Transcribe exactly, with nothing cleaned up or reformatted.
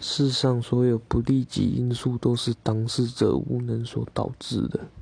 世上所有不利己因素都是当事者无能所导致的。